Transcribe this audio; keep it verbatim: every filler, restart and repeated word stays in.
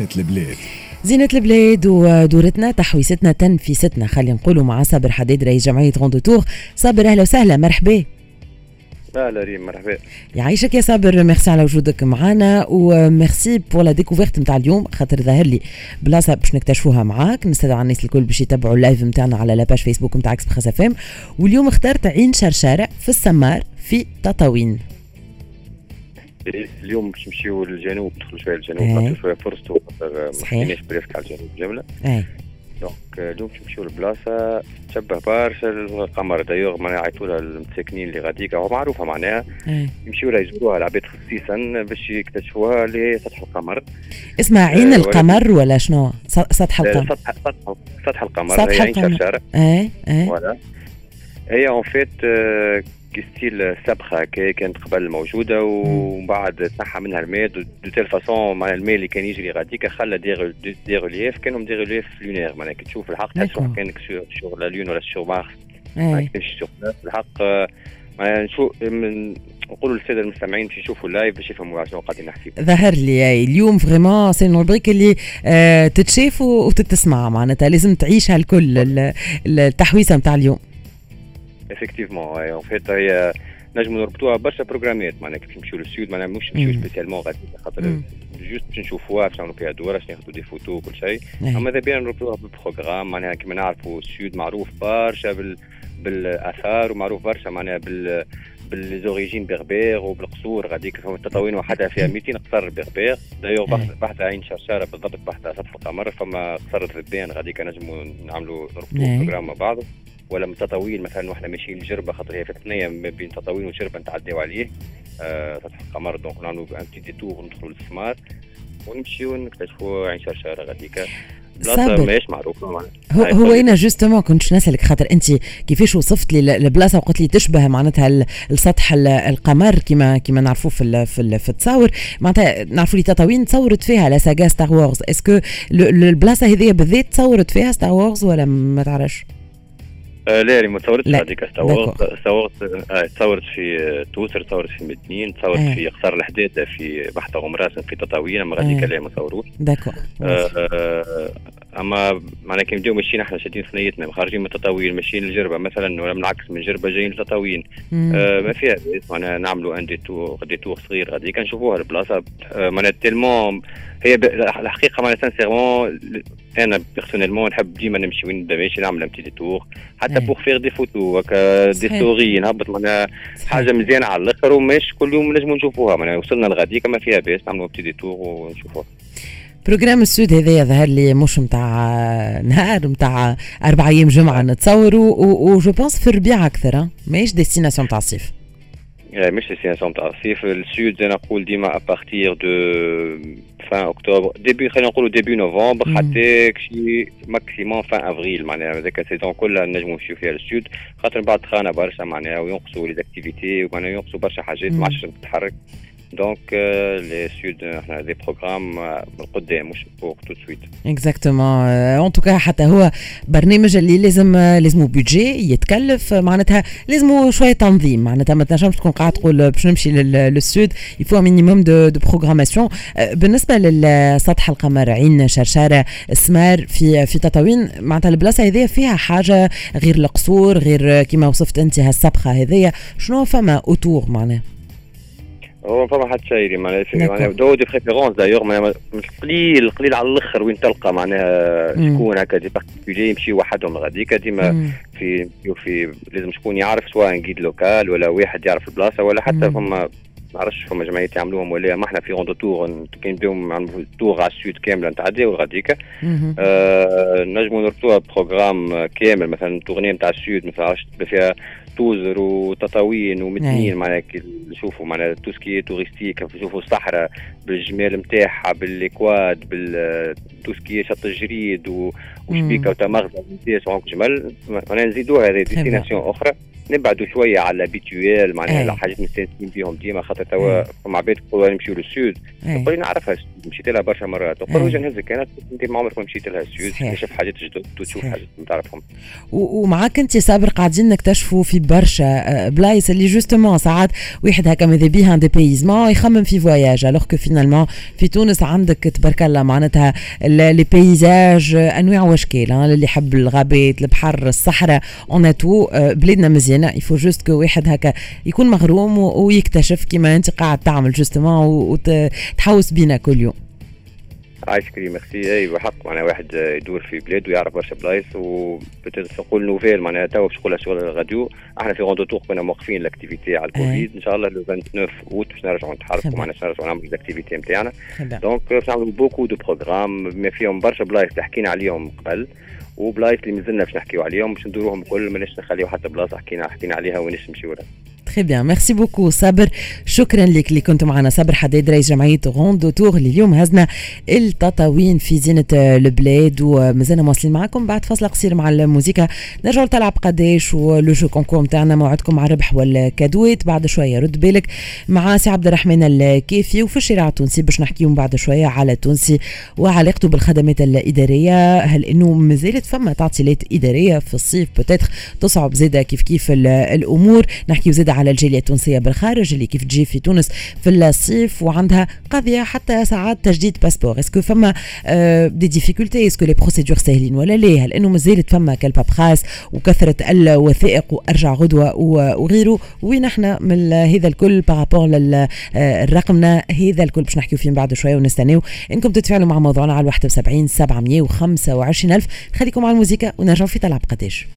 زينة البلاد. زينة البلاد ودورتنا تحويستنا تنفيستنا خلينا نقولوا مع صابر حداد رئيس جمعية غوندو تور. صابر أهلا وسهلا، مرحبا. اهلا ريم، مرحبا. يعيشك يا صابر، ميرسي على وجودك معنا وميرسي بور لا ديكوفيرت نتاع اليوم، خاطر ظاهر لي بلاصه باش نكتشفوها معاك. نستدعي الناس الكل باش يتبعوا اللايف نتاعنا على لاباج فيسبوك نتاع اكسبريس اف ام. واليوم اخترت عين شرشاره في السمار في تطاوين. اليوم باش نمشيو للجنوب، ندخلوا شويه للجنوب، نعطيو شويه فرصتو خاطر ما حكيناش بريسك على الجنوب جمله. اي دونك اليوم باش نمشيو لبلاصه تشبه برشا القمر. دايوغ معناها عيطوا لها المساكنين اللي غاديك هو معروفه معناها يمشيو لها يزوروها العباد خصيصا باش يكتشفوها اللي هي سطح القمر. اسمها عين آه القمر ولا شنو؟ سطح القمر. سطح سطح سطح القمر. سطح هي عين القمر. شرشاره. اي اي فوالا. هي اون فيت ستيل سبخه كي كانت قبل موجوده ومن بعد تنحى منها الماء دو تيل فاسون. مع الماء اللي كان يجري غاديك خلى دي دي ريليف، كانوا دي ريليف لونير معناها كي تشوف الحق تحس كانك سور لا لون ولا سور مارس. ما كانش سور الحق. معناها نشوف نقولوا للساده المستمعين باش يشوفوا اللايف باش يفهموا شنو قاعدين نحكي. ظهر لي اليوم فريمون سي الروبريك اللي آه تتشاف وتتسمع، معناتها لازم تعيشها الكل التحويسه نتاع اليوم. افكتيفمون اون فيت هي نجموا نربطوها برشا بروغرامات معناها كيف نمشيو للسود معناها مش نمشيو سبيسيالمون غادي خاطر جوست باش نشوفوها باش نعملوا فيها دوره باش ناخذوا دي فوتو وكل شيء. اما اذا بينا نربطوها بالبروغرام معناها كما نعرفوا السود معروف برشا بال بالاثار ومعروف برشا معناها بال بالزوريجين بربير وبالقصور غاديك فهم التطاوين وحدها فيها مئتين قصر بربير. دايوغ بحث عين شرشاره بالضبط بحث سطح القمر فما قصر ذبان غاديك نجموا نعملوا نربطوا بروغرام مع بعض. ولا من تطاوين مثلا واحنا ماشيين لجربه خاطر هي في الثنيه ما بين تطاوين وجربه نتعداو عليه آه سطح القمر. دونك نعملوا ان بتي ديتور ندخلوا للسمار ونمشيو نكتشفوا عين شرشاره غاديك بلاصه ماهيش معروفه. هو هو انا جوستومون كنت نسالك خاطر انت كيفاش وصفت لي البلاصه وقلت لي تشبه معناتها السطح القمر كما كما نعرفوه في في, في التصاور معناتها نعرفوا لي تطاوين تصورت فيها لا ساغا ستار وورز. اسكو البلاصه هذه بالذات تصورت فيها ستار وورز ولا ما تعرفش؟ آه لا ما تصورتش هذيك. تصورت تصورت آه تصورت في توسر، تصورت في مدنين، تصورت آه. في قصر الحداده في بحث غمراس في تطاوين. اما غاديك لا ما تصوروش. داكور. آه آه اما معناها كي نبداو ماشيين احنا شادين ثنيتنا خارجين من التطاوين ماشيين للجربه مثلا ولا بالعكس من جربه جايين للتطاوين آه ما فيها معناها نعملوا ان دي تور دي تور صغير غاديك نشوفوها البلاصه آه معناها تيلمون هي الحقيقه معناها سانسيرمون انا بيرسونيلمون نحب ديما نمشي وين نبدا ماشي نعمل امتي دي تور حتى بوغ فيغ دي فوتو هكا دي ستوري نهبط معناها حاجه مزيانه على الاخر وماش كل يوم نجموا نشوفوها. معناها وصلنا لغاديك ما فيها باس نعملوا امتي دي تور ونشوفوها. بروجرام السود هذا يظهر لي مش متاع نهار متاع أربع أيام جمعة نتصوروا وجو بونس في الربيع أكثر ماهيش ديستيناسيون تاع الصيف. مش ديستيناسيون تاع الصيف. السود زي نقول ديما أبارتير دو فان أكتوبر ديبي خلينا نقولوا ديبي نوفمبر حتى شي ماكسيموم فان أفريل. معناها هذاك السيزون كلها نجموا نمشيو فيها للسود خاطر بعد خانة برشا معناها وينقصوا لي زاكتيفيتي ومعناها ينقصوا برشا حاجات ما عادش تتحرك. دونك لي سود احنا دي بروغرام من قدام مش فوق تو سويت. اكزاكتومون. ان توكا حتى هو برنامج اللي لازم لازمو بودجي يتكلف معناتها لازمو شويه تنظيم. معناتها ما تنجمش تكون قاعد تقول باش نمشي للسود يفو مينيموم دو دو بروغراماسيون. بالنسبه للسطح القمر عين شرشاره السمار في في تطاوين معناتها البلاصه هذه فيها حاجه غير القصور غير كما وصفت انت هالسبخه هذيا شنو فما اوتور معناها؟ هو فما حد شيء معناها دو دي بريفيرونس دايوغ معناها قليل قليل على الاخر وين تلقى معناها شكون هكا دي بارتيكولي يمشي وحدهم غاديك ديما في في لازم شكون يعرف سواء جيد لوكال ولا واحد يعرف البلاصه ولا حتى فما ما نعرفش فما جمعيات يعملوهم ولا ما احنا في غوندو تور كي نبداو نعملوا تور على السود كامله نتعداو غاديك آه نجموا نربطوها بروغرام كامل مثلا تورني نتاع السود مثلا عرفت فيها توزر وتطاوين ومتنين معناها نشوفوا معناها توسكي توريستيك نشوفوا الصحراء بالجمال نتاعها بالاكواد بالتوسكي شط الجريد وشبيكه وتمغزه ونسيت جمل معناها نزيدوها هذه ديستيناسيون اخرى نبعدوا شويه على البيتويال معناها الحاجات مستانسين بيهم ديما خاطر توا فما عباد يقولوا نمشيو للسود نقول نعرفها مشيت لها برشا مرات وخرج نهزك كانت انت ما عمرك ما مشيت لها السود تكتشف حاجات جدد تشوف حاجات ما تعرفهم. ومعاك انت صابر قاعدين نكتشفوا في برشا بلايص اللي جوستومون ساعات واحد هكا ماذا بيها دي بيزمون يخمم في فواياج الوغ كو فينالمون في تونس عندك تبارك الله معناتها لي بيزاج انواع واشكال اللي يحب الغابات البحر الصحراء اون تو بلادنا مزيانه يفو جوست كو واحد هكا يكون مغروم ويكتشف كيما انت قاعد تعمل جوستومون وتحوس بينا كل يوم. عايش كريم ميرسي. اي بحق معناها واحد يدور في بلاد ويعرف برشا بلايص وبتقدر تقول نوفيل معناها توا باش نقولها شغل الراديو. احنا في غوندو تور كنا موقفين الاكتيفيتي على الكوفيد ان شاء الله لو تسعة وعشرين اوت باش نرجعوا نتحركوا معناها باش نرجعوا نعملوا الاكتيفيتي نتاعنا دونك باش نعملوا بوكو دو بروغرام ما فيهم برشا بلايص اللي حكينا عليهم قبل وبلايص اللي مازلنا باش نحكيو عليهم باش ندوروهم الكل ماناش نخليو حتى بلاصه حكينا حكينا عليها وناش نمشيو لها. تري بيان ميرسي بوكو صابر شكرا لك اللي كنت معنا. صابر حداد رئيس جمعيه غوندو تور اللي اليوم هزنا التطاوين في زينه البلاد ومازلنا مواصلين معكم بعد فاصل قصير مع الموسيقى نرجعوا تلعب قداش ولو جو كونكور نتاعنا موعدكم مع الربح والكادوات بعد شويه رد بالك مع سي عبد الرحمن الكافي وفي الشارع التونسي باش نحكيهم بعد شويه على التونسي وعلاقته بالخدمات الاداريه هل انه مازالت فما تعطيلات اداريه في الصيف بوتيتر تصعب زاده كيف كيف الامور نحكي زاده على الجاليه التونسيه بالخارج اللي كيف تجي في تونس في الصيف وعندها قضيه حتى ساعات تجديد باسبور اسكو فما آه دي ديفيكولتي اسكو لي بروسيدور سهلين ولا لا هل انه مازالت فما كالبابخاس وكثره الوثائق وارجع غدوه وغيره وين احنا من هذا الكل بارابور للرقمنا هذا الكل باش نحكيو فيه بعد شويه ونستناو انكم تتفاعلوا مع موضوعنا على واحد وسبعين سبعمية وخمسة وعشرين ألف. خليكم على الموسيقى ونرجعوا في تلعب قداش.